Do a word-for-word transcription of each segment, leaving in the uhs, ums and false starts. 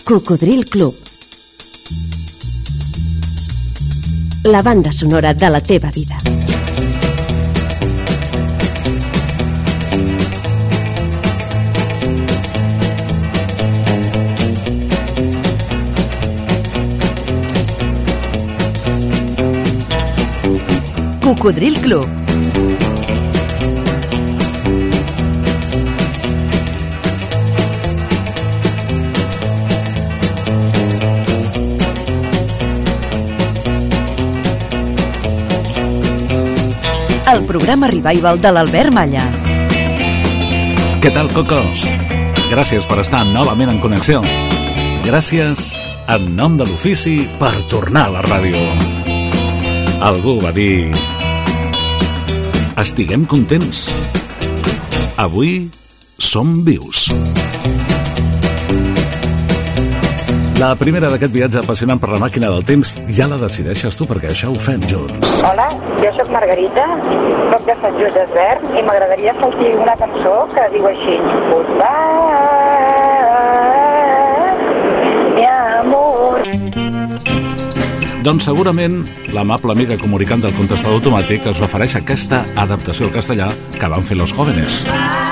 Cocodril Club. La banda sonora de la teva vida. Cocodril Club. El programa Revival de l'Albert Malla. Què tal, cocos? Gràcies per estar novament en connexió. Gràcies en nom de l'ofici per tornar a la ràdio. Algú va dir: estiguem contents. Avui som vius. La primera d'aquest viatge apassionant per la màquina del temps ja la decideixes tu, perquè això ho fem junts. Hola, jo sóc Margarita, soc de Sant Just Desvern i m'agradaria sentir una cançó que diu així: Goodbye, mi amor. Doncs segurament l'amable amiga comunicant del contestador automàtic es refereix a aquesta adaptació al castellà que van fer Los Jóvenes.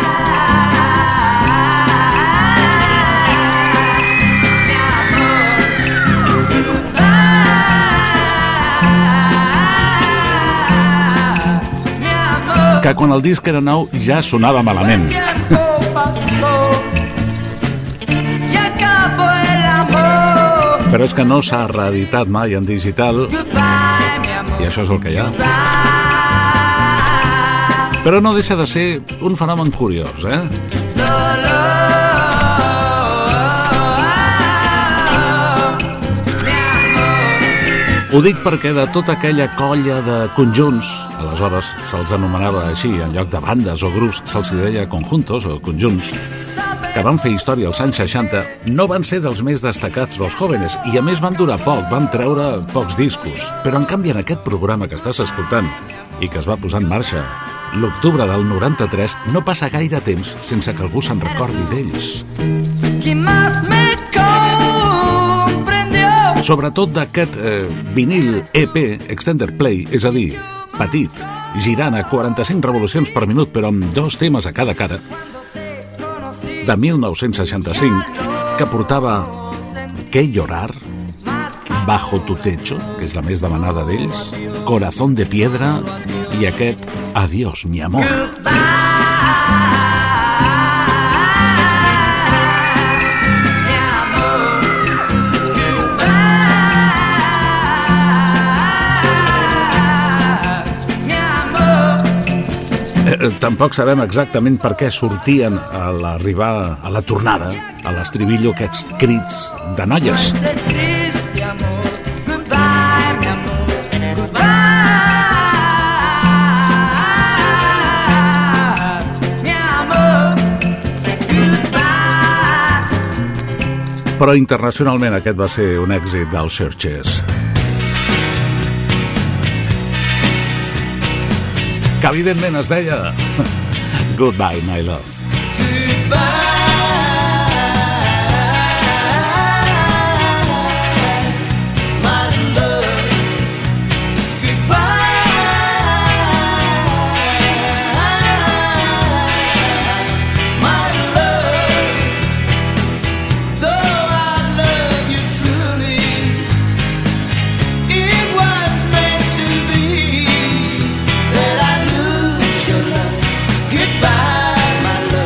Que quan el disc era nou ja sonava malament. Però és que no s'ha reeditat mai en digital i això és el que hi ha. Però no deixa de ser un fenomen curiós, eh? Ho dic perquè de tota aquella colla de conjunts, aleshores se'ls anomenava així, en lloc de bandes o grups se'ls deia conjuntos o conjunts, que van fer història als anys seixanta, no van ser dels més destacats Los Jóvenes, i a més van durar poc, van treure pocs discos. Però en canvi en aquest programa que estàs escoltant i que es va posar en marxa l'octubre del noranta-tres, no passa gaire temps sense que algú se'n recordi d'ells. Sobretot d'aquest eh, vinil E P Extended Play, és a dir, petit, girant a quaranta-cinc revolucions per minut però amb dos temes a cada cara, de mil nou-cents seixanta-cinc, que portava ¿Qué llorar?, Bajo tu techo, que és la més demanada d'ells, Corazón de piedra i aquest Adiós mi amor. Tampoc sabem exactament per què sortien a l'arribar, a la tornada, a l'estribillo, aquests crits de noies. Però internacionalment aquest va ser un èxit dels Searchers. Que evidentment es deia Goodbye, my love. Goodbye, my love.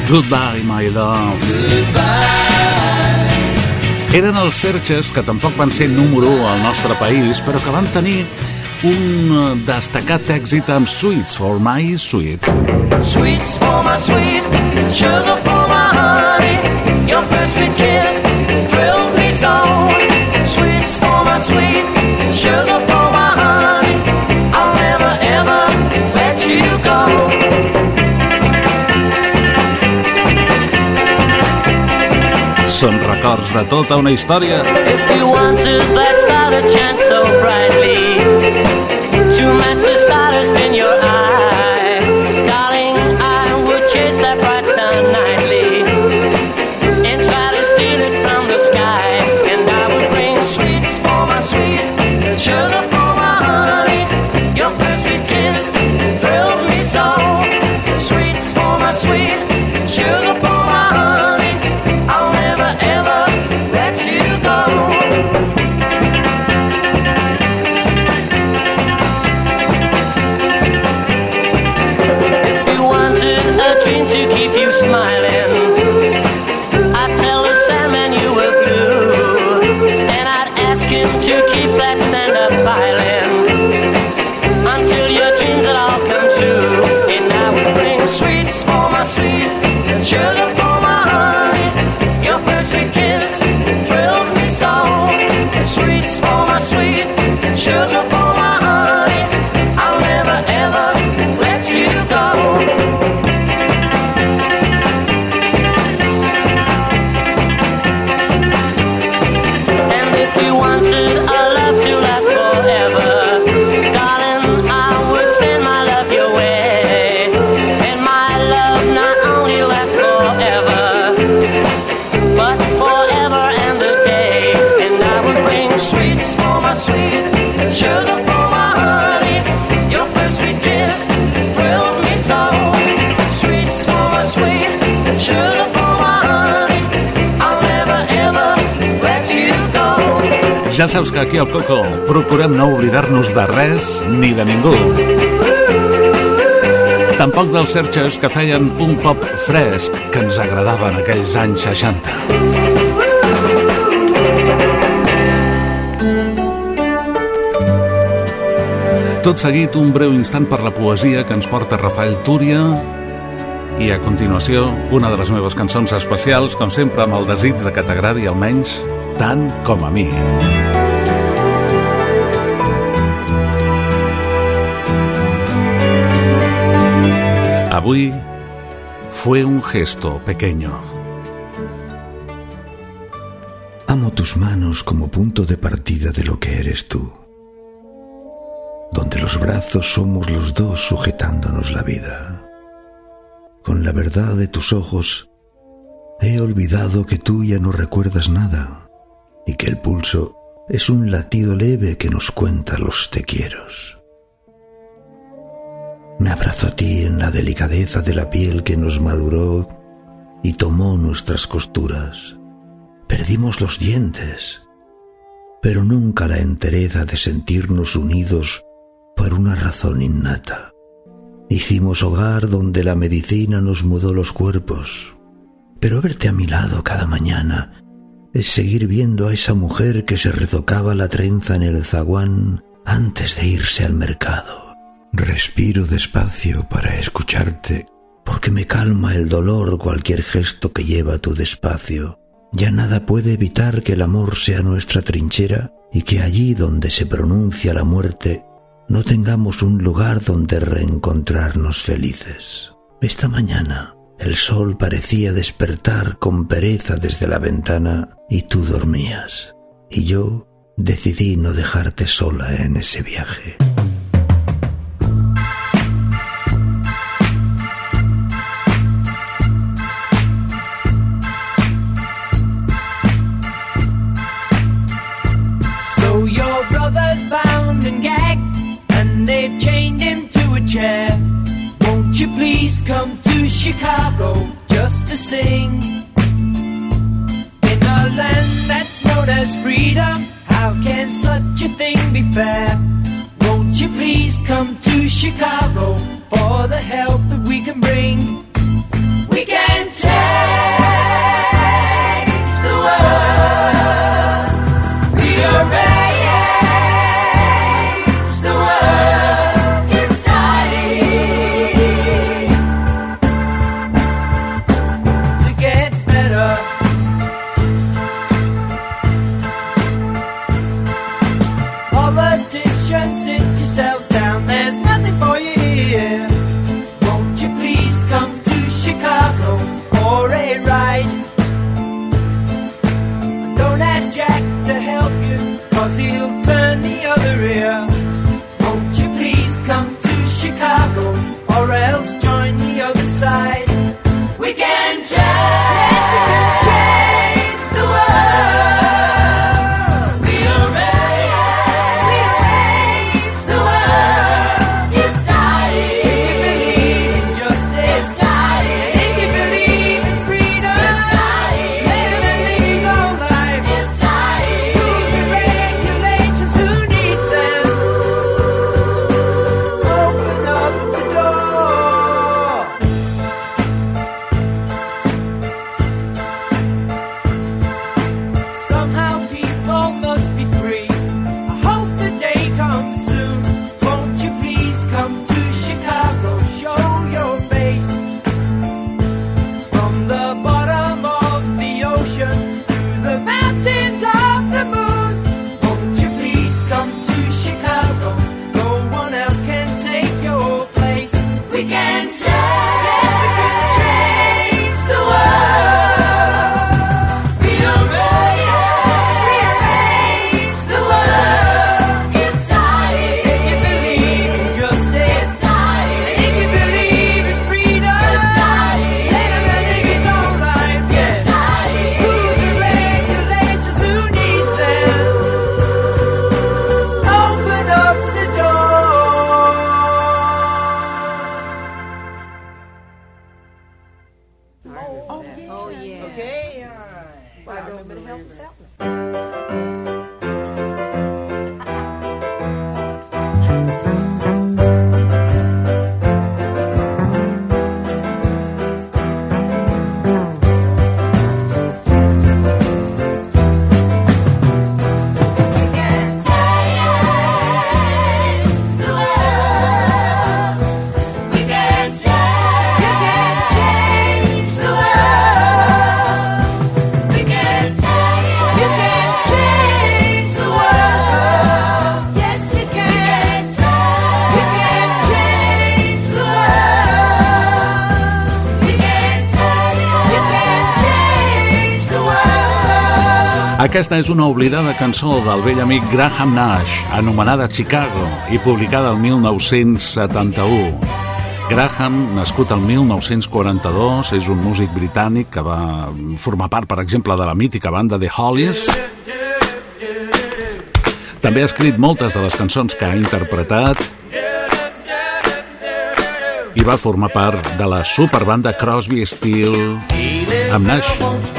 Goodbye, my love. Eren els Searchers, que tampoc van ser número u al nostre país, però que van tenir un destacat èxit amb Sweets for my sweet. Sweets for my sweet, sugar for my honey, your first sweet kiss thrills me so. Sweets for my sweet, sugar for my honey, I'll never ever let you go. Són records de tota una història. If you wanted that star to shine so brightly, to match the stardust in your eye, darling, I would chase that bright star nightly and try to steal it from the sky. And I would bring sweets for my sweet, sugar for my honey, your first sweet kiss thrills me so. Sweets for my sweet, sugar for my honey, I'll never ever let you go. If you wanted a dream to keep you smiling, I'd tell the Sandman you were blue, and I'd ask him to keep that sand up piling until your dreams would all come true. And I would bring sweets for my sweet, sugar for my honey, your first sweet kiss thrills me so. Sweets for my sweet, sugar for my honey, I'll never ever let you go. And if you wanted a love to last forever, darling, I would send my love your way. And my love not only lasts forever, but forever and a day. And I would bring sweets for my sweet, sugar for my honey, your first sweet kiss thrills me so. Sweets for my sweet, sugar for my honey, I'll never ever let you go. Ja saps que aquí al Coco procurem no oblidar-nos de res ni de ningú. Tampoc dels Searchers, que feien un pop fresc que ens agradava en aquells anys seixanta. Tot seguit, un breu instant per la poesia que ens porta Rafael Túria i, a continuació, una de les meves cançons especials, com sempre amb el desig de que t'agradi almenys tant com a mi. Avui fue un gesto pequeño. Amo tus manos como punto de partida de lo que eres tú, donde los brazos somos los dos sujetándonos la vida. Con la verdad de tus ojos he olvidado que tú ya no recuerdas nada y que el pulso es un latido leve que nos cuenta los te quieros. Me abrazo a ti en la delicadeza de la piel que nos maduró y tomó nuestras costuras. Perdimos los dientes, pero nunca la entereza de sentirnos unidos por una razón innata. Hicimos hogar donde la medicina nos mudó los cuerpos, pero verte a mi lado cada mañana es seguir viendo a esa mujer que se retocaba la trenza en el zaguán antes de irse al mercado. Respiro despacio para escucharte, porque me calma el dolor cualquier gesto que lleva tu despacio. Ya nada puede evitar que el amor sea nuestra trinchera y que allí donde se pronuncia la muerte no tengamos un lugar donde reencontrarnos felices. Esta mañana el sol parecía despertar con pereza desde la ventana y tú dormías, y yo decidí no dejarte sola en ese viaje. So your brother's bound and gagged, and they've chained him to a chair. Won't you please come to Chicago just to sing? In a land that's known as freedom, how can such a thing be fair? Won't you please come to Chicago for the help that we can bring? We can 'cause he'll turn the other ear. Won't you please come to Chicago, or else join the other side? We can change, yes, we can change the world. Rearrange, rearrange the world. It's dying. If you believe in justice, it's dying. If you believe in freedom, it's dying. Living these all life, it's dying. Rules and regulations, who needs them? Open up the door. Somehow people must be free. I hope the day comes soon. Won't you please come to Chicago, show your face. From the bottom of the ocean to the mountains of the moon. Won't you please come to Chicago? No one else can take your place. We can change, yes, we can change the world. Rearrange, rearrange the world. It's dying. If you believe in justice, it's dying. If you believe in freedom, it's dying. Living is all life, yeah. It's dying. Rules and regulations, who needs them? Open up the door. Oh yeah. Okay. All right. Well, remember to help us out. Aquesta és una oblidada cançó del vell amic Graham Nash, anomenada Chicago i publicada el mil nou-cents setanta-u. Graham, nascut el mil nou-cents quaranta-dos, és un músic britànic que va formar part, per exemple, de la mítica banda The Hollies. També ha escrit moltes de les cançons que ha interpretat i va formar part de la superbanda Crosby, Stills amb Nash,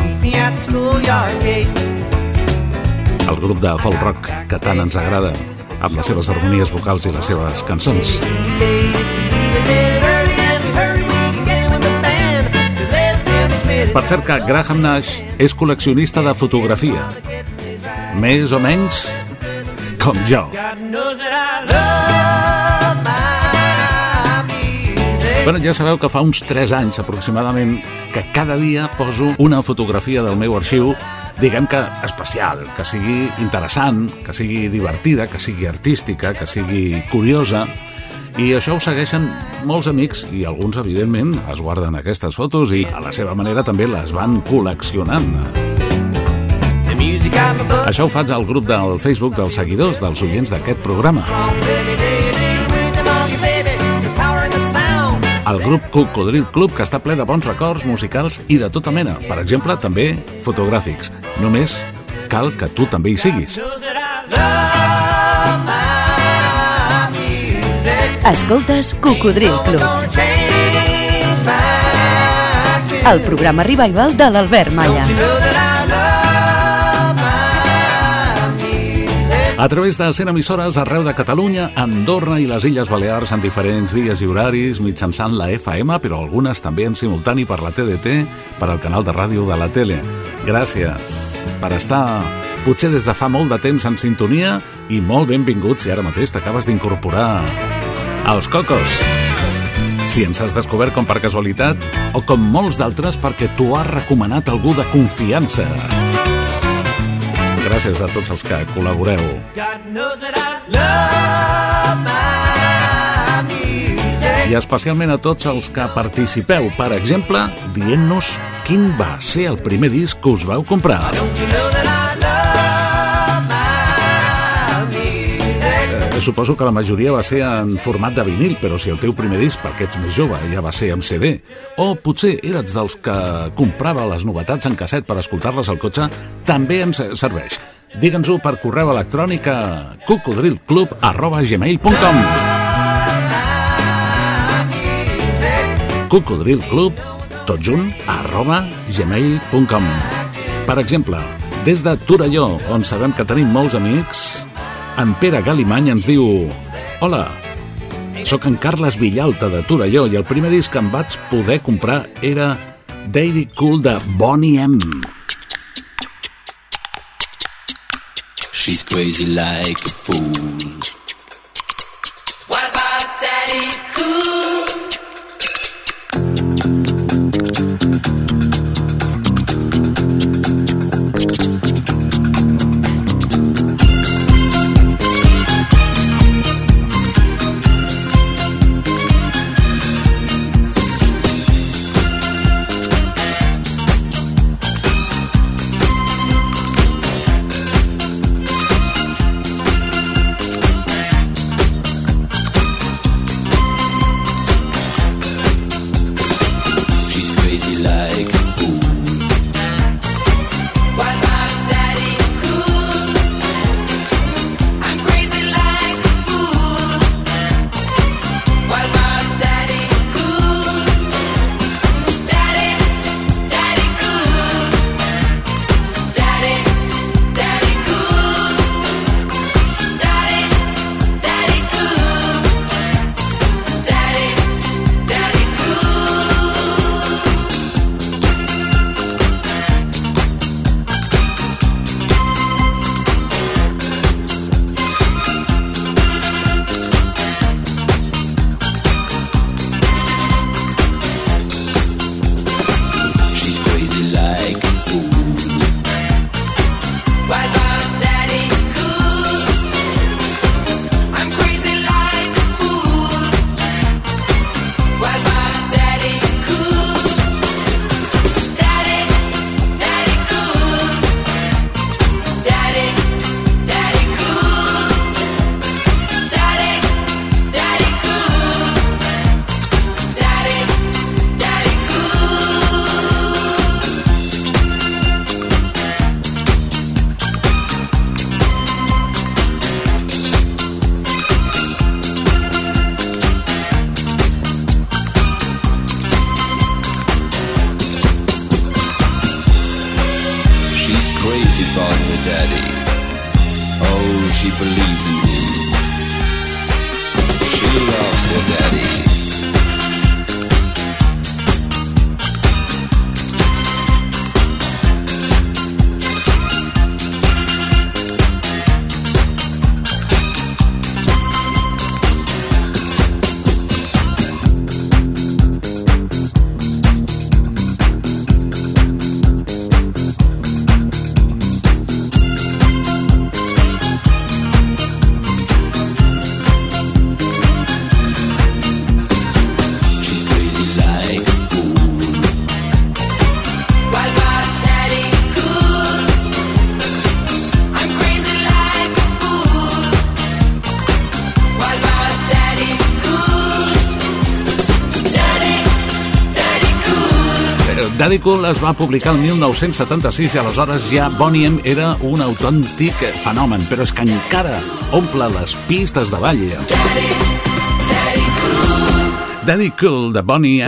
el grup de folk rock que tant ens agrada, amb les seves harmonies vocals i les seves cançons. Per cert que Graham Nash és col·leccionista de fotografia, més o menys com jo. Bueno, ja sabeu que fa uns tres anys aproximadament que cada dia poso una fotografia del meu arxiu, diguem que especial, que sigui interessant, que sigui divertida, que sigui artística, que sigui curiosa, i això ho segueixen molts amics i alguns, evidentment, es guarden aquestes fotos i a la seva manera també les van col·leccionant. Això ho faig al grup del Facebook dels seguidors, dels oients d'aquest programa. El grup Cocodril Club, que està ple de bons records musicals i de tota mena, per exemple, també fotogràfics. Només cal que tu també hi siguis. Escoltes Cocodril Club, el programa revival de l'Albert Malla. A través de cent emissores arreu de Catalunya, Andorra i les Illes Balears en diferents dies i horaris mitjançant la F M, però algunes també en simultani per la T D T, per al canal de ràdio de la tele. Gràcies per estar potser des de fa molt de temps en sintonia i molt benvinguts si ara mateix t'acabes d'incorporar als Cocos. Si ens has descobert com per casualitat o com molts d'altres perquè t'ho ha recomanat algú de confiança. Gràcies a tots els que col·laboreu. I especialment a tots els que participeu, per exemple, dient-nos quin va ser el primer disc que us vau comprar. Suposo que la majoria va ser en format de vinil, però si el teu primer disc, perquè ets més jove, ja va ser amb C D, o potser eres dels que comprava les novetats en casset per escoltar-les al cotxe, també ens serveix. Digue'ns-ho per correu electrònic a cocodrilclub arroba gmail punt com. cocodrilclub, tot junt, arroba gmail punt com. Per exemple, des de Torelló, on sabem que tenim molts amics, en Pere Galimany ens diu: hola, sóc en Carles Villalta de Torelló i el primer disc que em vaig poder comprar era Daddy Cool de Boney M. She's crazy like a fool. What about Daddy Cool? Daddy Cool es va publicar el mil nou-cents setanta-sis i aleshores ja Boney M era un autèntic fenomen, però és que encara omple les pistes de ball. Daddy, Daddy Cool. Daddy Cool de Boney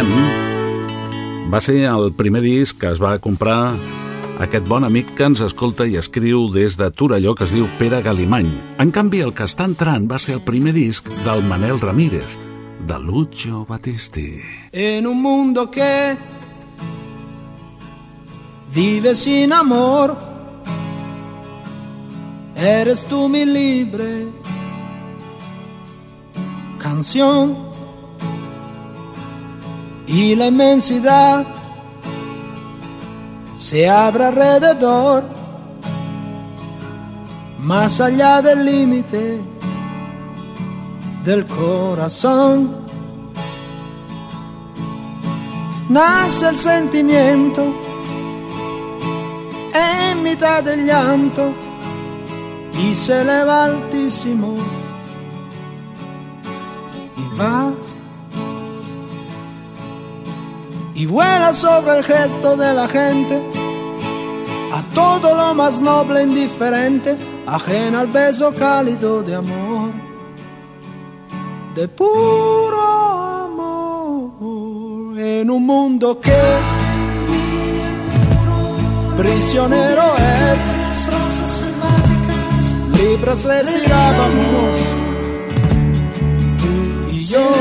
M va ser el primer disc que es va comprar aquest bon amic que ens escolta i escriu des de Torelló, que es diu Pere Galimany. En canvi, el que està entrant va ser el primer disc del Manel Ramírez, de Lucio Battisti. En un mundo que vive sin amor, eres tú mi libre canción, y la inmensidad se abre alrededor, más allá del límite del corazón. Nace el sentimiento en mitad del llanto y se eleva altísimo y va y vuela sobre el gesto de la gente, a todo lo más noble e indiferente, ajena al beso cálido de amor, de puro amor, en un mundo que prisionero es, libres respirábamos, tú y yo,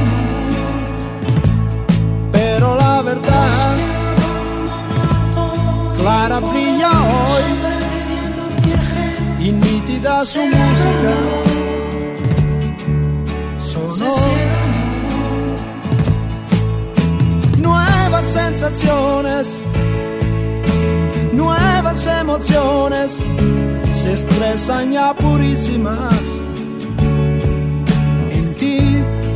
pero la verdad clara brilla hoy y nítida su música sonó. Nuevas sensaciones, nuevas emociones se expresan ya purísimas en ti.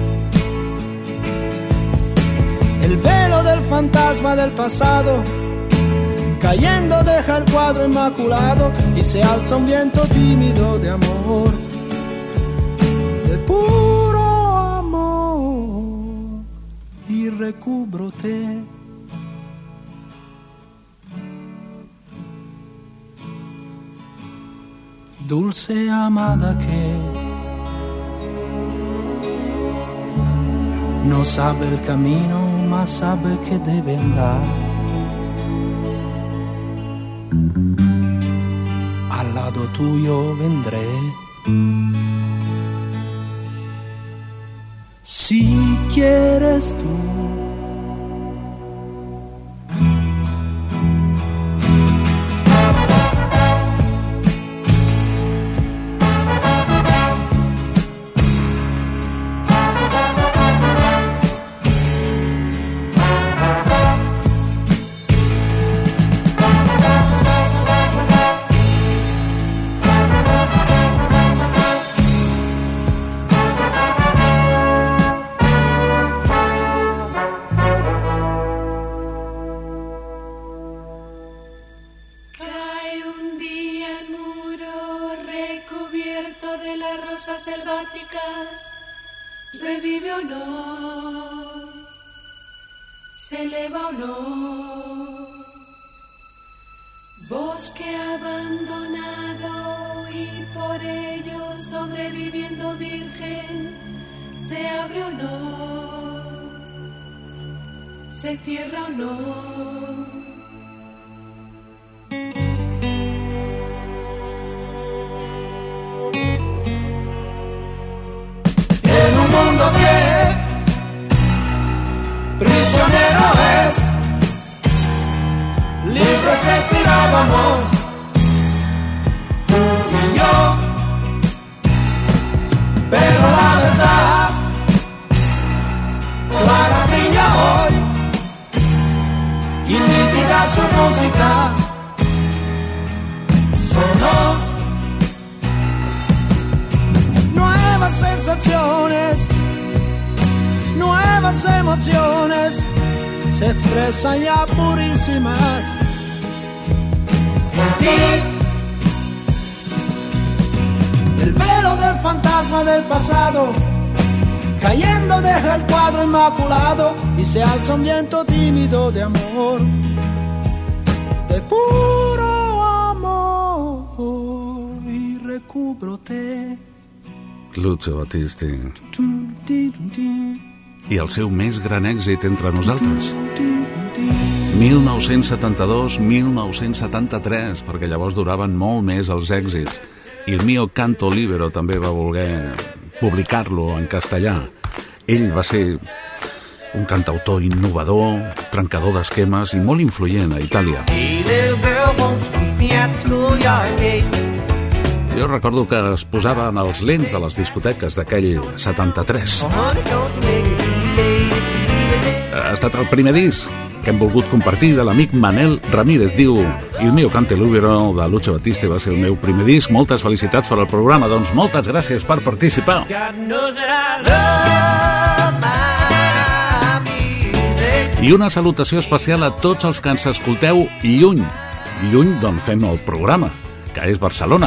El velo del fantasma del pasado cayendo deja el cuadro inmaculado y se alza un viento tímido de amor, de puro amor, y recúbrote. Dulce amada que no sabe el camino, mas sabe que debe andar. Al lado tuyo vendré. Si quieres tú. Revive o no, se eleva o no, bosque abandonado y por ello sobreviviendo virgen, se abre o no, se cierra o no. Que prisionero es, libres respirábamos, tú y yo, pero la verdad clara brilla hoy y nítida su música sonó. Nuevas sensaciones, nuevas emociones se expresan ya purísimas en ti. El velo del fantasma del pasado cayendo deja el cuadro inmaculado y se alza un viento tímido de amor, de puro amor, y recúbrote. Lucio Battisti i el seu més gran èxit entre nosaltres, mil nou-cents setanta-dos a mil nou-cents setanta-tres, perquè llavors duraven molt més els èxits, i el Mio Canto Libero també va voler publicar-lo en castellà. Ell va ser un cantautor innovador, trencador d'esquemes i molt influent a Itàlia. Jo recordo que es posaven els lents de les discoteques d'aquell setanta-tres. Ha estat el primer disc que hem volgut compartir de l'amic Manel Ramírez. Diu, Il mio Canto Libero de Lucio Battisti va ser el meu primer disc. Moltes felicitats per al programa. Doncs moltes gràcies per participar. I una salutació especial a tots els que ens escolteu lluny, lluny d'on fem el programa, que és Barcelona.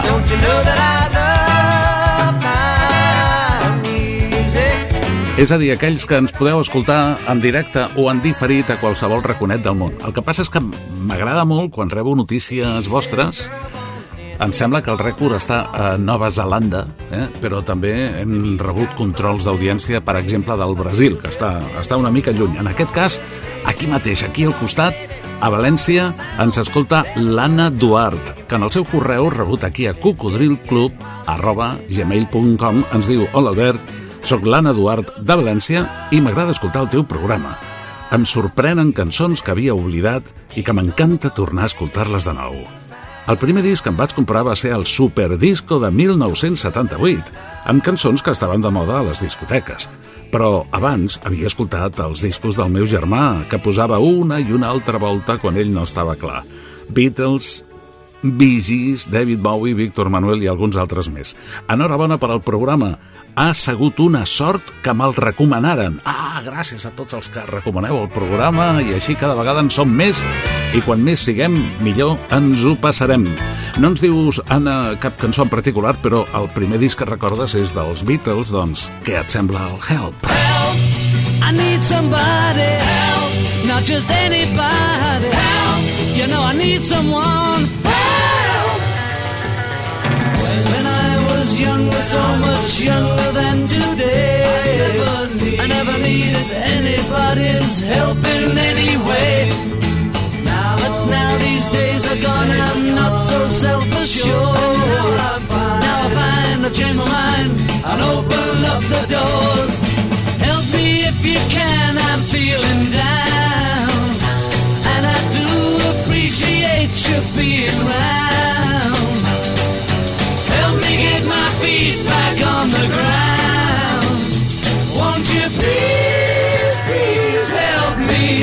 És a dir, aquells que ens podeu escoltar en directe o en diferit a qualsevol raconet del món. El que passa és que m'agrada molt quan rebo notícies vostres. Em sembla que el rècord està a Nova Zelanda, eh? Però també hem rebut controls d'audiència, per exemple, del Brasil, que està, està una mica lluny. En aquest cas, aquí mateix, aquí al costat, a València, ens escolta l'Anna Duart, que en el seu correu rebut aquí a cocodrilclub arroba gmail punt com ens diu: Hola Albert, soc l'Anna Duart de València i m'agrada escoltar el teu programa. Em sorprenen cançons que havia oblidat i que m'encanta tornar a escoltar-les de nou. El primer disc que em vaig comprar va ser el Superdisco de mil nou-cents setanta-vuit, amb cançons que estaven de moda a les discoteques. Però abans havia escoltat els discos del meu germà, que posava una i una altra volta quan ell no estava clar. Beatles, Bee Gees, David Bowie, Víctor Manuel i alguns altres més. Enhorabona per al programa. Ha sigut una sort que me'l recomanaren. Ah, gràcies a tots els que recomaneu el programa, i així cada vegada en som més, i quan més siguem, millor ens ho passarem. No ens dius, Anna, cap cançó en particular, però el primer disc que recordes és dels Beatles, doncs què et sembla el Help? Help, I need somebody. Help, not just anybody. Help, you know I need someone. Help, when I was younger, so much younger than today, I never, need, I never needed anybody's help in any way. But now these days are gone, I'm not so self-assured. Now I find, now I find I've changed my mind and open up the doors. Help me if you can, I'm feeling down, and I do appreciate you being round. Help me get my feet back on the ground. Won't you please, please help me?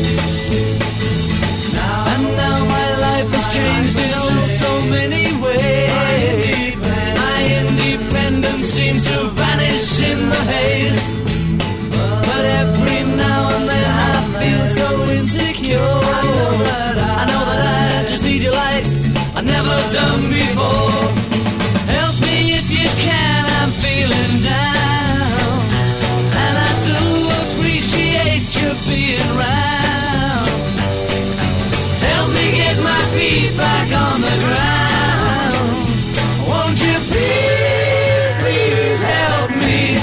Changed in oh so many ways. My independence seems to vanish in the haze. But every now and then I feel so insecure. I know that I, I, know that I just need you like I've never done before. Help me if you can, I'm feeling down, and I do appreciate you being around. My feet back on the ground. Won't you please, please help me?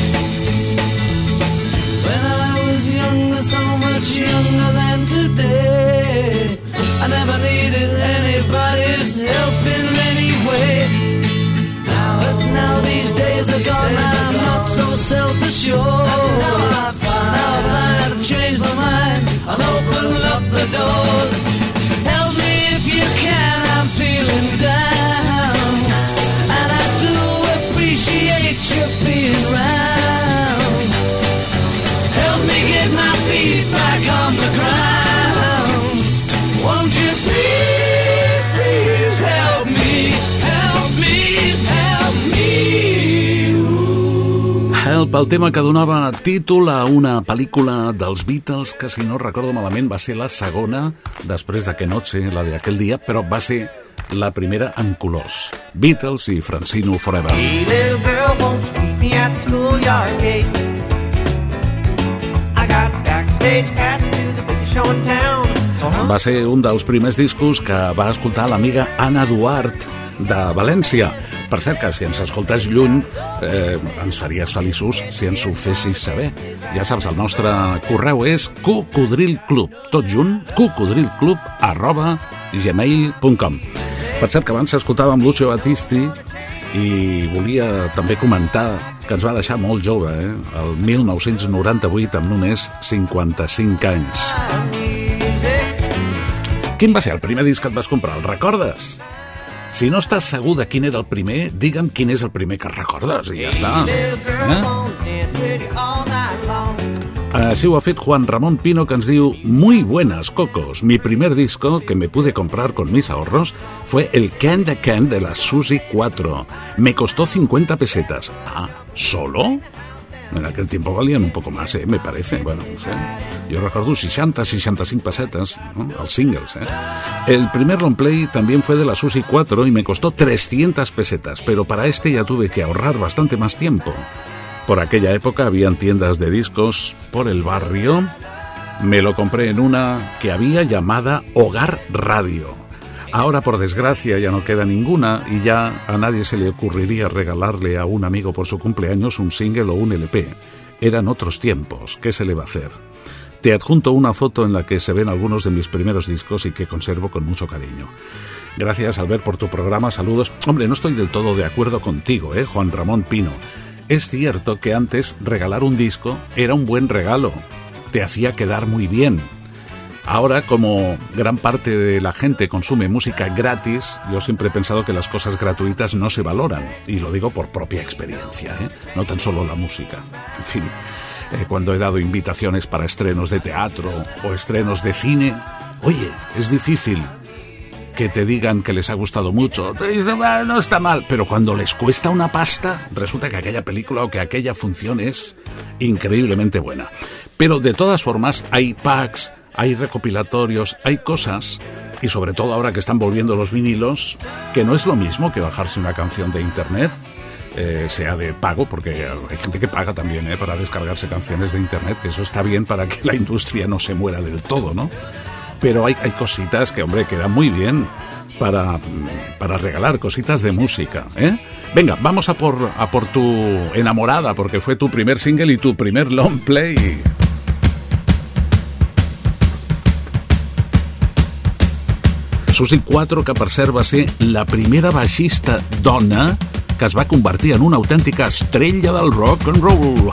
When I was younger, so much younger than today, I never needed anybody's help in any way. Now, but now these days are gone, I'm not so self-assured. Now I find, now I find I've changed my mind, I'll open up the doors. Help me if you can, I'm feeling down, and I do appreciate you being round. Help me get my feet back on the ground. Won't you please, please help me, help me, help me. Ooh. Help, el tema que donava títol a una pel·lícula dels Beatles que, si no recordo malament, va ser la segona després de Que Noche, la d'aquell dia, però va ser la primera en colors. Beatles i Francino Forever. Hey, little girl, won't you meet me at the schoolyard gate? I got backstage pass to the biggest show in town. Va ser un dels primers discos que va escoltar l'amiga Anna Duart de València. Per cert, que si ens escoltes lluny, eh, ens faries feliços si ens ho fessis saber. Ja saps, el nostre correu és cocodrilclub, tot junt, cocodrilclub arroba gmail punt com. Per cert, que abans escoltàvem Lucio Battisti i volia també comentar que ens va deixar molt jove, eh? El mil nou-cents noranta-vuit, amb només cinquanta-cinc anys. Quin va ser el primer disc que et vas comprar? El recordes? Si no estàs segur de quin era el primer, digue'm quin és el primer que recordes i ja està. Eh? Así ho ha fet Juan Ramón Pino, que ens diu: Muy buenas, cocos. Mi primer disco que me pude comprar con mis ahorros fue el Can de Can de la Susi cuatro. Me costó cincuenta pesetas. Ah, ¿solo? En aquel tiempo valían un poco más, ¿eh? Me parece. Bueno, no sé. Yo recuerdo sesenta, sesenta y cinco pesetas, ¿no? Los singles, ¿eh? El primer long play también fue de la Susi cuatro y me costó trescientas pesetas, pero para este ya tuve que ahorrar bastante más tiempo. Por aquella época habían tiendas de discos por el barrio. Me lo compré en una que había llamada Hogar Radio. Ahora, por desgracia, ya no queda ninguna y ya a nadie se le ocurriría regalarle a un amigo por su cumpleaños un single o un L P. Eran otros tiempos, ¿qué se le va a hacer? Te adjunto una foto en la que se ven algunos de mis primeros discos y que conservo con mucho cariño. Gracias, Albert, por tu programa. Saludos. Hombre, no estoy del todo de acuerdo contigo, ¿eh, Juan Ramón Pino? Es cierto que antes regalar un disco era un buen regalo. Te hacía quedar muy bien. Ahora, como gran parte de la gente consume música gratis, yo siempre he pensado que las cosas gratuitas no se valoran. Y lo digo por propia experiencia, ¿eh? No tan solo la música. En fin, eh, cuando he dado invitaciones para estrenos de teatro o estrenos de cine, oye, es difícil que te digan que les ha gustado mucho. Te dicen, bueno, no está mal, pero cuando les cuesta una pasta, resulta que aquella película o que aquella función es increíblemente buena. Pero de todas formas, hay packs, hay recopilatorios, hay cosas, y sobre todo ahora que están volviendo los vinilos, que no es lo mismo que bajarse una canción de internet, eh, sea de pago, porque hay gente que paga también eh, para descargarse canciones de internet, que eso está bien para que la industria no se muera del todo, ¿no? Pero hay, hay cositas que, hombre, quedan muy bien para, para regalar, cositas de música, ¿eh? Venga, vamos a por, a por tu enamorada, porque fue tu primer single y tu primer long play. Susi quatre, que per cert va ser la primera baixista dona que es va convertir en una autèntica estrella del rock and roll.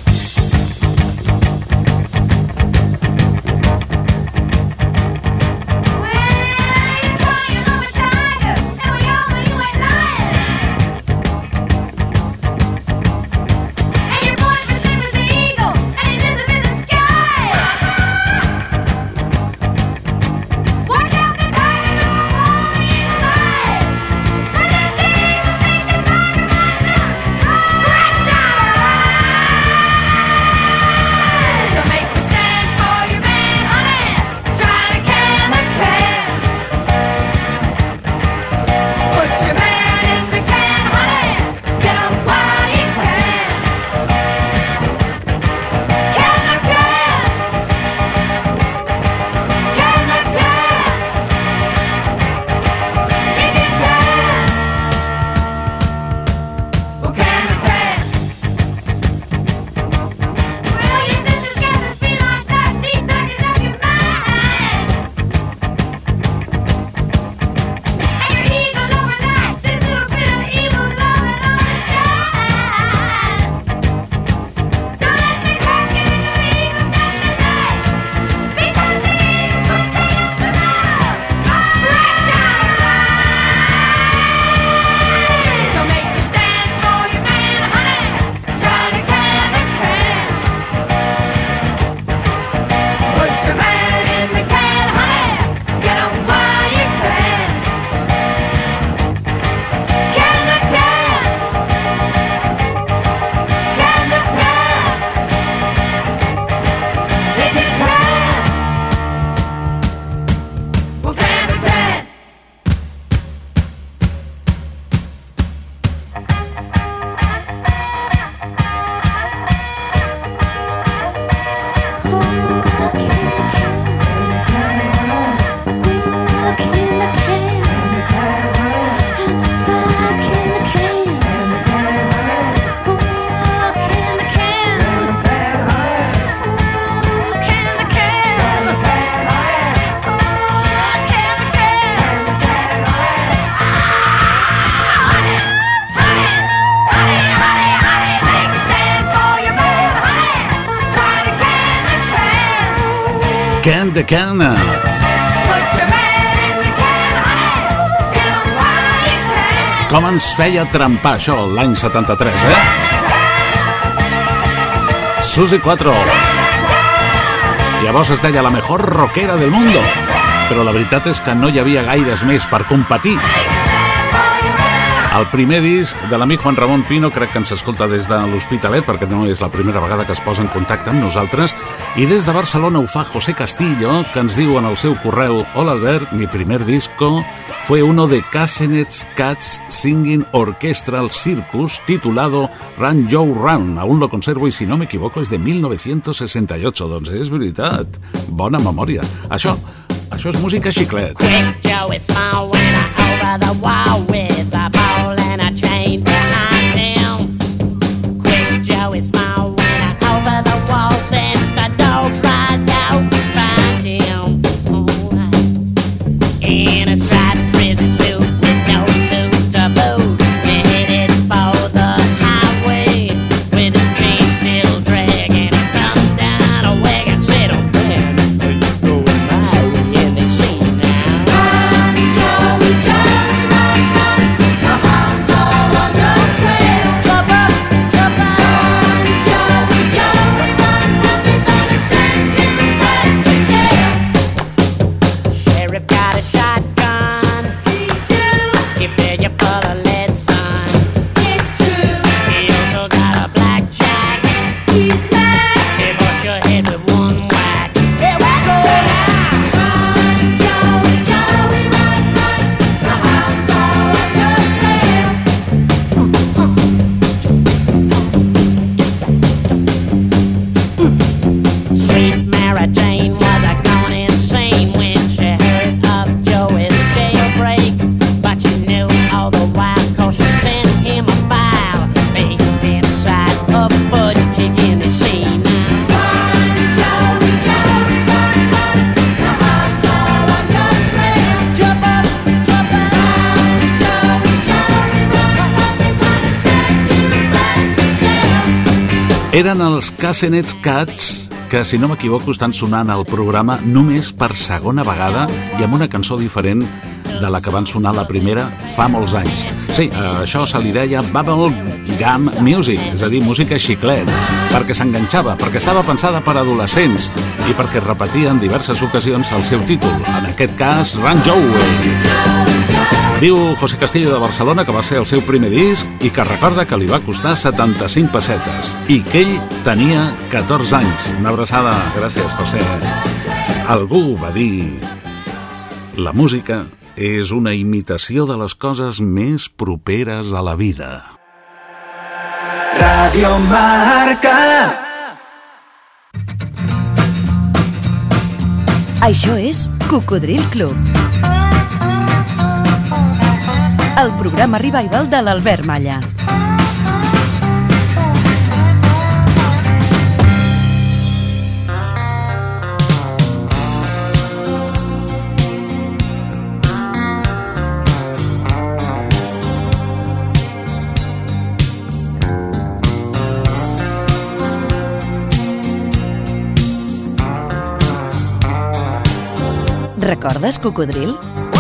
Can the Can. Com ens feia trempar això l'any setanta-tres, eh? Susi quatre. Llavors es deia la mejor rockera del mundo, però la veritat és que no hi havia gaires més per competir. El primer disc de l'amic Juan Ramón Pino, crec que ens escolta des de l'Hospitalet, perquè no és la primera vegada que es posa en contacte amb nosaltres, i des de Barcelona ho fa José Castillo, que ens diu en el seu correu: hola Albert, mi primer disco fue uno de Casenet's Cats Singing Orchestral Circus titulado Run Joe Run. Aún lo conservo y si no me equivoco és de mil nou-cents seixanta-ocho. Doncs és veritat, bona memòria. Això, això és música xiclet. Quick Joe is small when I over the wall with a ball and a chain behind him. Quick Joe is small when I over the wall and the dogs right out to find him. In a striped prison suit with no loot to boot, headed for the highway with his chain still dragging. He come down a wagon, said, "Oh man, are you going my way?" And they say now, "Run, Joey, Joey, run, run, the hounds are on your trail. Jump up, jump up, run, Joey, Joey, run, run, they're gonna send you back to jail." Sheriff got a shotgun. He do. He fill you full of lead, son. It's true. He also got a blackjack. He's mad. He bust your head with one whack. Here we go now. Run, Joey, Joey, run, run. The hounds are on your trail. Sweet Mary Jane was a gone insane when she heard of Joey's jailbreak. But you knew all the while, cause she sent him a file baked inside a fudge kicking the scene. Run, Joey, Joey, run, run. The hounds are on your trail. Jump up, jump up. Run, Joey, Joey, run, run. They're gonna send you back to jail. Eren els Casenet's Cats, que si no m'equivoco estan sonant al programa només per segona vegada i amb una cançó diferent de la que van sonar la primera fa molts anys. Sí, això se li deia Bubble Gum Music, és a dir, música xiclet, perquè s'enganxava, perquè estava pensada per adolescents i perquè repetia en diverses ocasions el seu títol, en aquest cas Run Joey. Diu José Castillo de Barcelona que va ser el seu primer disc i que recorda que li va costar setanta-cinc pessetes i que ell tenia catorze anys. Una abraçada, gràcies José. Algú va dir: la música és una imitació de les coses més properes a la vida. Radio Marca. Això és Cocodril Club, el programa revival de l'Albert Malla. Recordes Cocodril?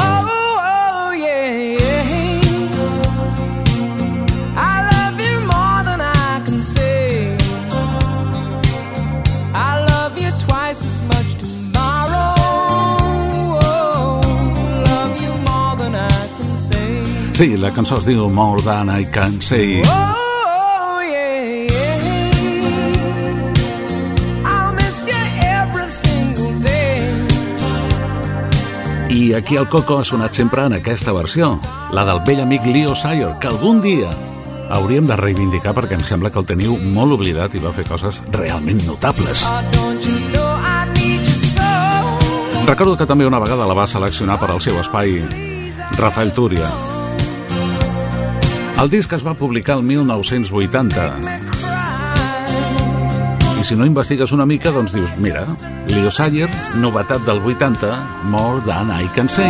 Sí, la cançó es diu More Than I Can Say. Oh, yeah, yeah. I'll miss you every single day. I aquí el Coco ha sonat sempre en aquesta versió, la del vell amic Leo Sayer, que algun dia hauríem de reivindicar perquè em sembla que el teniu molt oblidat i va fer coses realment notables. Recordo que també una vegada la va seleccionar per al seu espai Rafael Túria. El disc es va publicar el mil nou-cents vuitanta. I si no investigues una mica, doncs dius, mira, Leo Sayer, novetat del vuitanta, More Than I Can Say.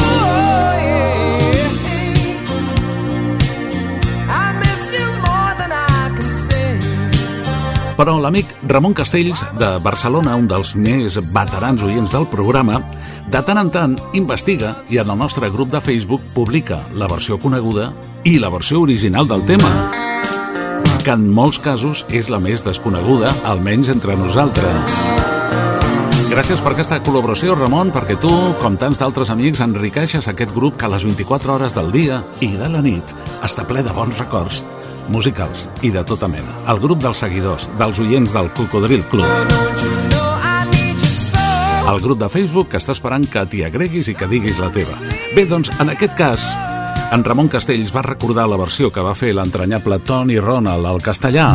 Però l'amic Ramon Castells, de Barcelona, un dels més veterans oients del programa, de tant en tant investiga i en el nostre grup de Facebook publica la versió coneguda i la versió original del tema, que en molts casos és la més desconeguda, almenys entre nosaltres. Gràcies per aquesta col·laboració, Ramon, perquè tu, com tants d'altres amics, enriqueixes aquest grup que a les vint-i-quatre hores del dia i de la nit està ple de bons records musicals i de tota mena. El grup dels seguidors, dels oients del Cocodril Club. El grup de Facebook està esperant que t'hi agreguis i que diguis la teva. Bé, doncs, en aquest cas, en Ramon Castells va recordar la versió que va fer l'entranyable Tony Ronald al castellà.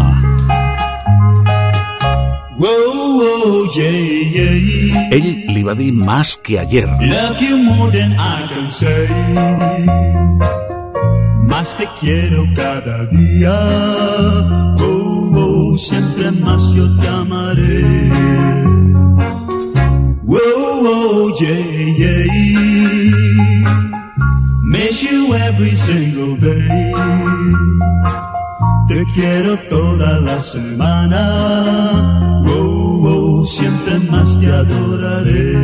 Whoa, whoa, yeah, yeah. Ell li va dir más que ayer. Love you more than I can say. Más te quiero cada día. Oh, oh, siempre más yo te amaré. Whoa, whoa, yeah, yeah. Miss you every single day. Te quiero toda la semana. Oh, oh, siempre más te adoraré.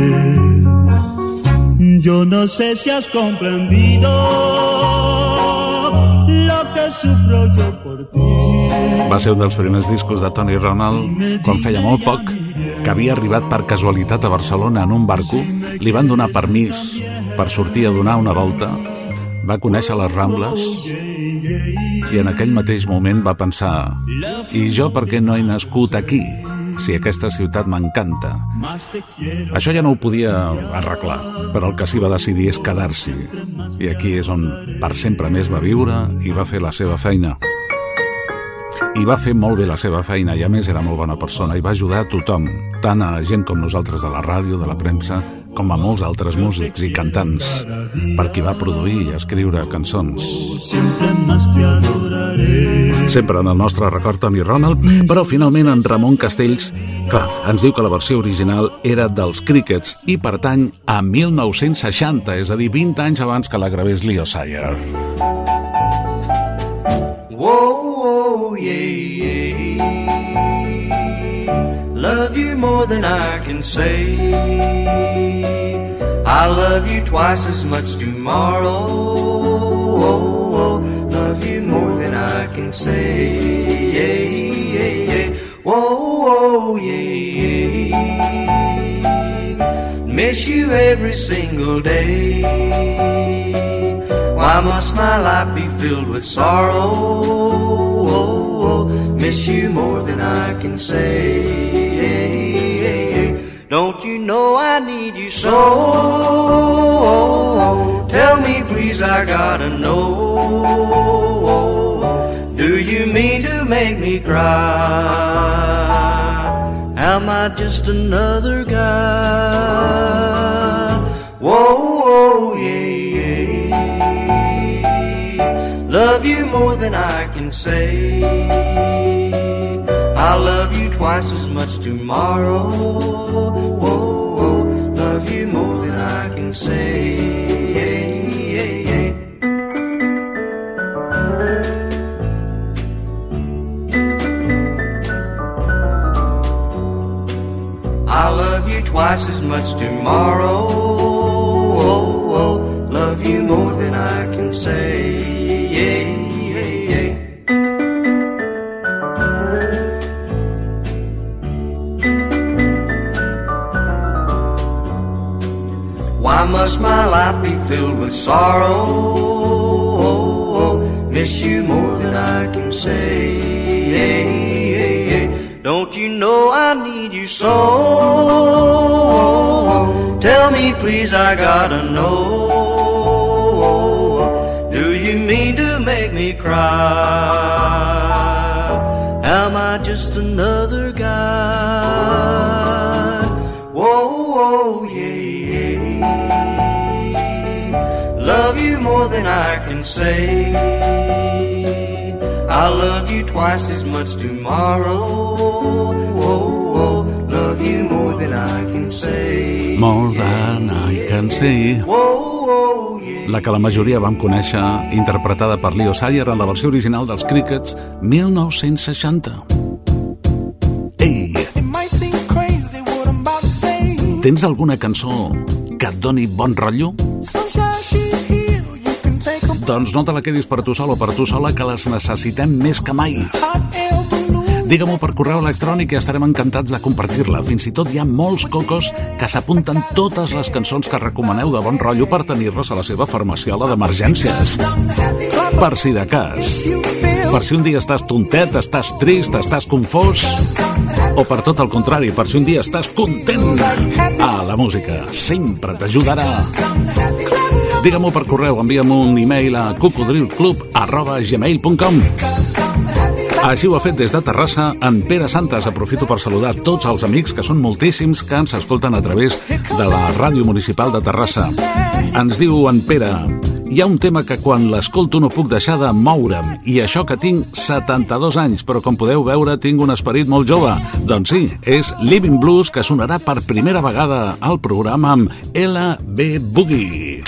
Yo no sé si has comprendido lo que sufro yo por ti. Va ser un dels primers discos de Tony Ronald quan feia molt poc que havia arribat per casualitat a Barcelona en un barco. Li van donar permís per sortir a donar una volta. Va conèixer les Rambles i en aquell mateix moment va pensar: i jo per què no he nascut aquí, si aquesta ciutat m'encanta? Això ja no ho podia arreglar, però el que sí va decidir és quedar-s'hi. I aquí és on per sempre més va viure i va fer la seva feina. I va fer molt bé la seva feina i a més era molt bona persona i va ajudar a tothom, tant a gent com nosaltres de la ràdio, de la premsa, com a molts altres músics i cantants, per qui va produir i escriure cançons. Sempre en el nostre record Tony Ronald, però finalment en Ramon Castells, clar, ens diu que la versió original era dels Crickets i pertany a mil nou-cents seixanta, és a dir, vint anys abans que la gravés Leo Sayer. Whoa, whoa, yeah, yeah. Love you more than I can say. I love you twice as much tomorrow. Oh, oh, love you more than I can say. Yeah, yeah, yeah. Whoa, whoa, yeah, yeah. Miss you every single day. Why must my life be filled with sorrow? Oh, oh, miss you more than I can say. Don't you know I need you so? Tell me please, I gotta know. Do you mean to make me cry? Am I just another guy? Whoa, whoa, yeah, yeah. Love you more than I can say. I'll love you twice as much tomorrow. Whoa, whoa, love you more than I can say. Yeah, yeah, yeah. I'll love you twice as much tomorrow. Whoa, whoa, love you more than I can say. Yeah, yeah, yeah. Why must my life be filled with sorrow? Miss you more than I can say. Don't you know I need you so? Tell me please, I gotta know. Do you mean to make me cry? Am I just another guy? Whoa, whoa, yeah. Love you more than I can say. I'll love you twice as much tomorrow. Oh, oh, love you more than I can say. More than I can say. Oh, oh, yeah. La que la majoria vam conèixer, interpretada per Leo Sayer en la versió original dels Crickets, mil nou-cents seixanta. Ei! Tens alguna cançó que et doni bon rotllo? Doncs no te la quedis per tu sol o per tu sola, que les necessitem més que mai. Digue-m'ho per correu electrònic i estarem encantats de compartir-la. Fins i tot hi ha molts cocos que s'apunten totes les cançons que recomaneu de bon rotllo per tenir-les a la seva farmaciola d'emergències. Per si de cas. Per si un dia estàs tontet, estàs trist, estàs confós. o per tot el contrari, per si un dia estàs content. Ah, la música sempre t'ajudarà. Digue-m'ho per correu, envia'm un e-mail a cocodrilclub arroba gmail punt com. Així ho ha fet des de Terrassa en Pere Santes. Aprofito per saludar tots els amics, que són moltíssims, que ens escolten a través de la Ràdio Municipal de Terrassa. Ens diu en Pere: hi ha un tema que quan l'escolto no puc deixar de moure'm, i això que tinc setanta-dos anys, però com podeu veure tinc un esperit molt jove. Doncs sí, és Living Blues, que sonarà per primera vegada al programa amb L B Boogie.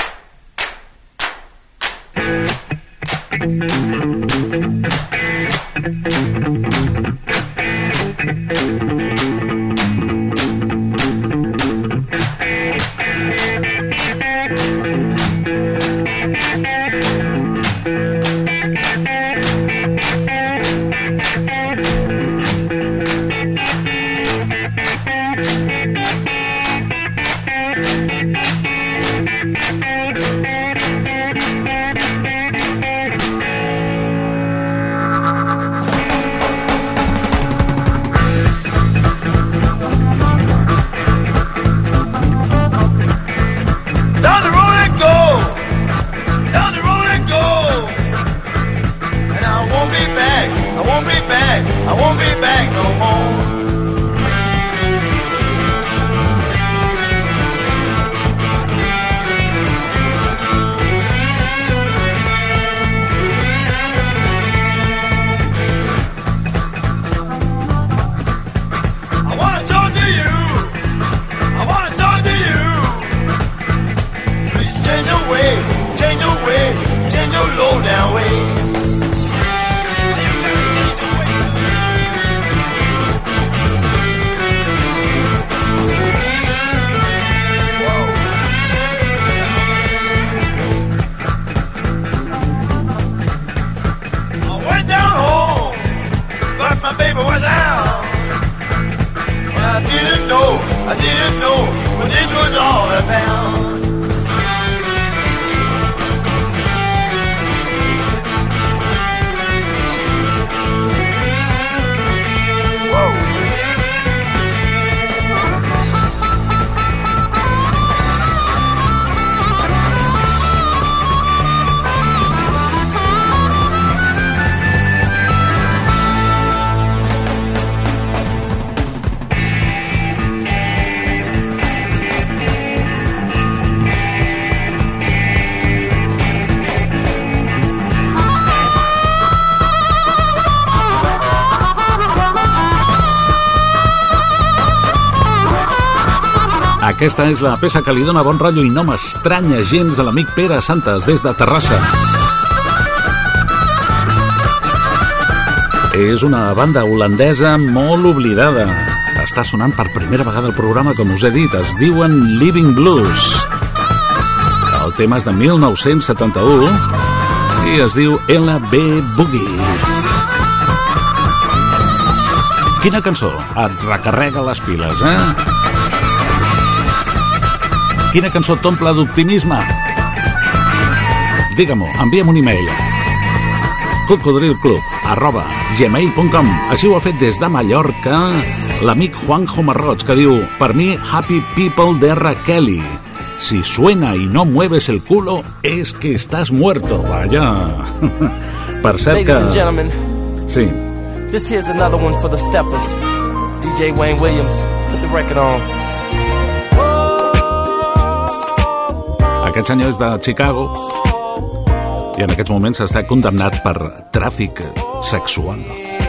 Aquesta és la peça que li dona bon rotllo i no m'estranya gens a l'amic Pere Santes des de Terrassa. És una banda holandesa molt oblidada. Està sonant per primera vegada al programa, com us he dit. Es diuen Living Blues. El tema és de mil nou-cents setanta-u i es diu L B Boogie. Quina cançó et recarrega les piles, eh? Quina cançó t'omple d'optimisme? Digue-m'ho, envia'm un e-mail cocodrilclub arroba gmail punt com. Així ho ha fet des de Mallorca l'amic Juanjo Marroig, que diu: per mi, Happy People de R. Kelly. Si suena y no mueves el culo, es que estás muerto. Vaya. Per cert que... Ladies and gentlemen, sí. This here's another one for the steppers. D J Wayne Williams, put the record on. Aquest senyor és de Chicago i en aquests moments està condemnat per tràfic sexual.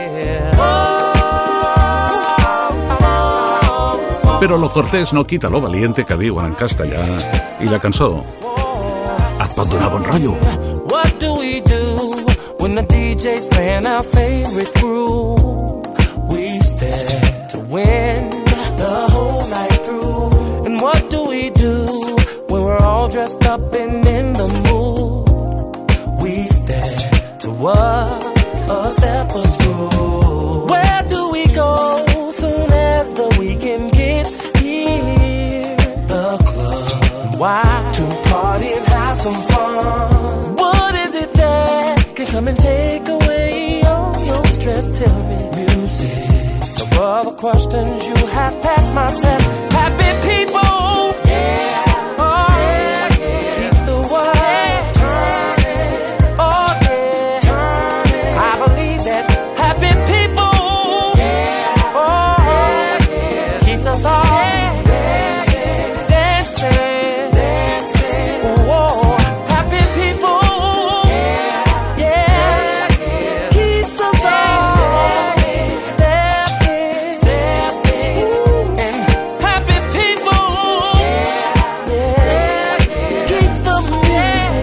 Però lo cortés no quita lo valiente, que diuen en castellà, i la cançó et pot donar bon rotllo. What do we do when the D J's playing our favorite groove? We stand to win the whole night through. And what do we do when we're all dressed up and in the mood? We stand to what a stepper's groove. Where do we go soon as the weekend gets here? The club. Why? To party and have some fun. What is it that can come and take away all your stress? Tell me. Music. Above a questions, you have passed my test. Happy people, yeah, oh, yeah, yeah. Keeps the world turning, oh yeah, turning. I believe that happy people, yeah, oh yeah, yeah. Keeps us all dancing, dancing, dancing. Whoa, happy people, yeah, yeah, yeah. Keeps us all stepping, stepping, stepping. And happy people, yeah, yeah, yeah. Keeps the music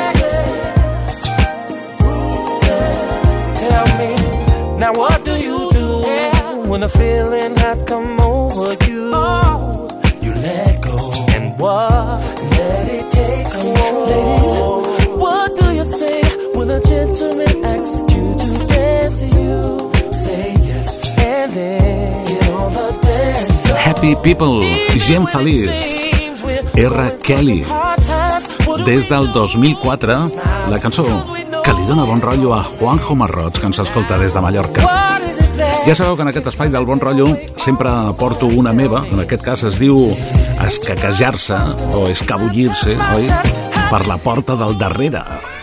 playing. Tell me, now what do you do when a feeling has come over you? Oh, you let go. And what? Let it take control. Ladies, what do you say when a gentleman asks you to dance? You say yes, and then get on the dance floor. Happy People, gent feliç. R. Kelly. Des del dos mil quatre, la cançó que li dona bon rotllo a Juanjo Marrots, que ens escolta des de Mallorca. Ja sabeu que en aquest espai del bon rotllo sempre porto una meva, en aquest cas es diu escaquejar-se o escabullir-se, oi? Per la porta del darrere.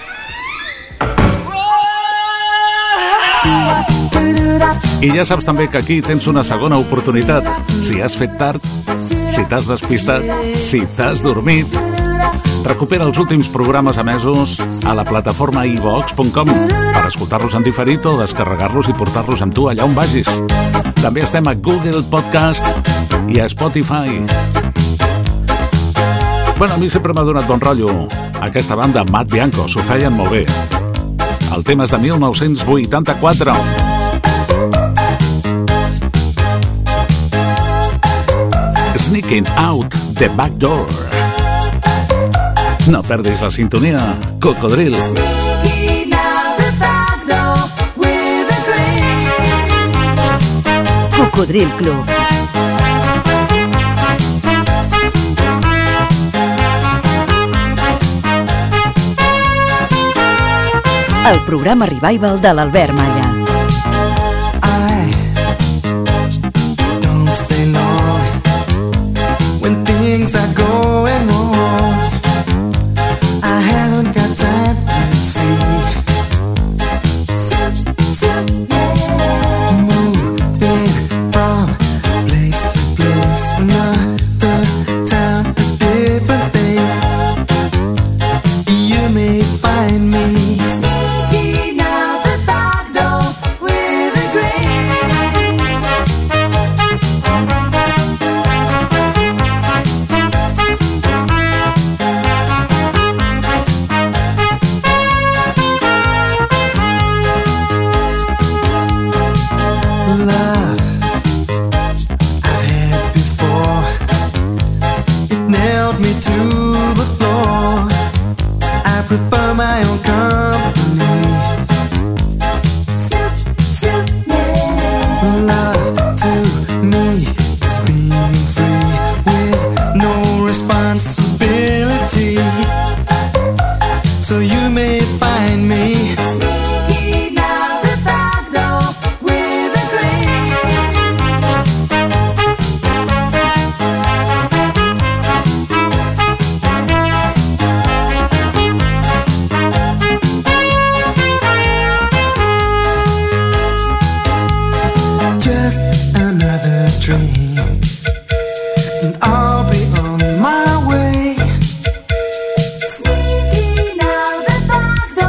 I ja saps també que aquí tens una segona oportunitat. Si has fet tard, si t'has despistat, si t'has dormit, recupera els últims programes emesos a la plataforma i vox punt com per escoltar-los en diferit o descarregar-los i portar-los amb tu allà on vagis. També estem a Google Podcast i a Spotify. Bueno, a mi sempre m'ha donat bon rotllo aquesta banda, Matt Bianco, s'ho feien molt bé. El tema és de mil nou-cents vuitanta-quatre. Sneaking Out the Back Door. No perdis la sintonia, Cocodril. Cocodril Club. El programa Revival de l'Albert Malla. Stay long when things are going wrong. I haven't got time to see. Moving from place to place, another town, different things. You may find me sneaking out the back door with a grin. Love I've had before, it nailed me to the floor. I prefer my own company. Love to me is being free with no responsibility. So you may find me sneaking out the back door with a grin. Just another dream, and I'll be on my way. Sneaking out the back door.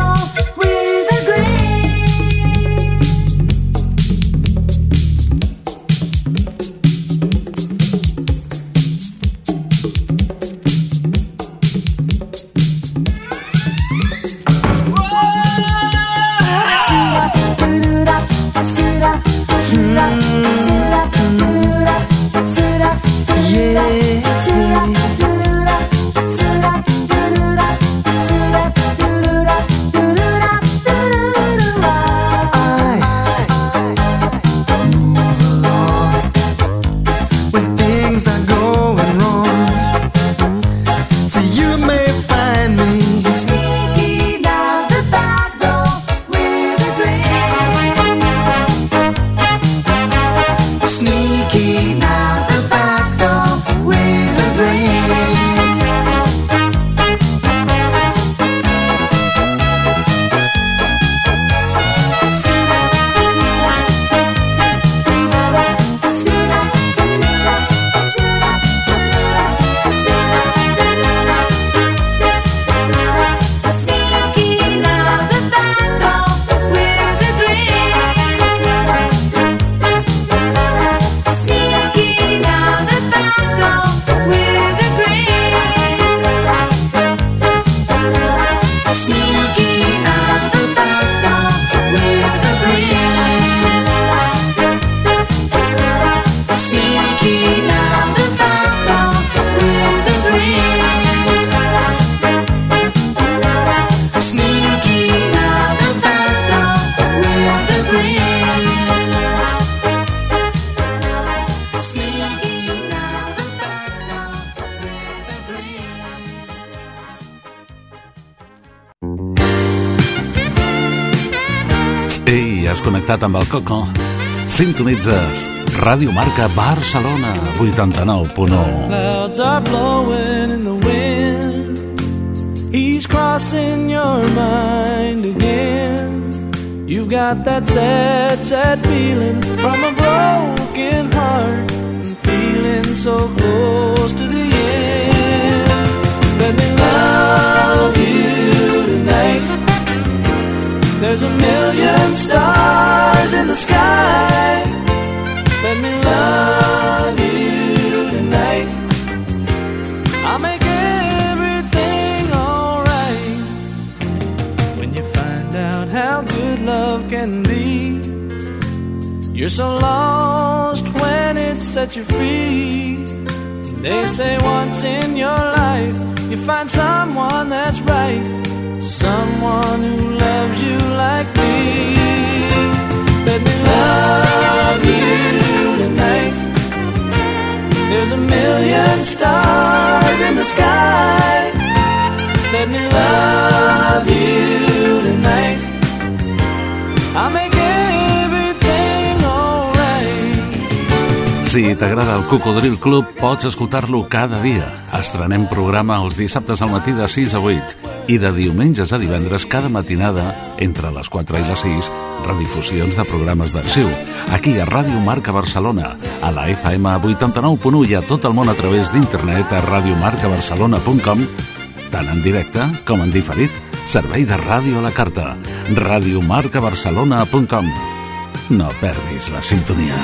Ei, has connectat amb el Coco. Sintonitzes Ràdio Marca Barcelona vuitanta-nou punt u. Clouds are blowing in the wind. He's crossing your mind again. You've got that sad, sad feeling from a broken heart, and feeling so close to the end. Let me love you tonight. There's a million stars in the sky. Let me love you tonight. I'll make everything alright. When you find out how good love can be, you're so lost when it sets you free. They say once in your life you find someone that's right, someone who loves you like me. Let me love you tonight. There's a million stars in the sky. Let me love you tonight. I'll make everything alright. Si t'agrada el Cocodril Club, pots escoltar-lo cada dia. Estrenem programa els dissabtes al matí de sis a vuit i de diumenges a divendres cada matinada entre les quatre i les sis, redifusions de programes d'arxiu. Aquí a Ràdio Marca Barcelona, a la F M vuitanta-nou punt u i a tot el món a través d'internet a radiomarcabarcelona punt com, tant en directe com en diferit. Servei de ràdio a la carta. radiomarcabarcelona punt com. No perdis la sintonia.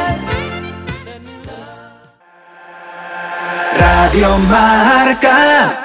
Radio Marca.